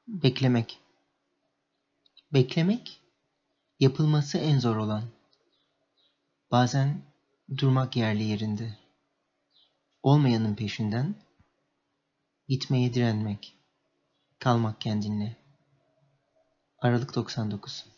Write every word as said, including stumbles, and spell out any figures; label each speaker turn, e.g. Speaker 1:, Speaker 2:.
Speaker 1: Beklemek. Beklemek, yapılması en zor olan. Bazen durmak yerli yerinde. Olmayanın peşinden, gitmeye direnmek, kalmak kendinle. Aralık doksan dokuz.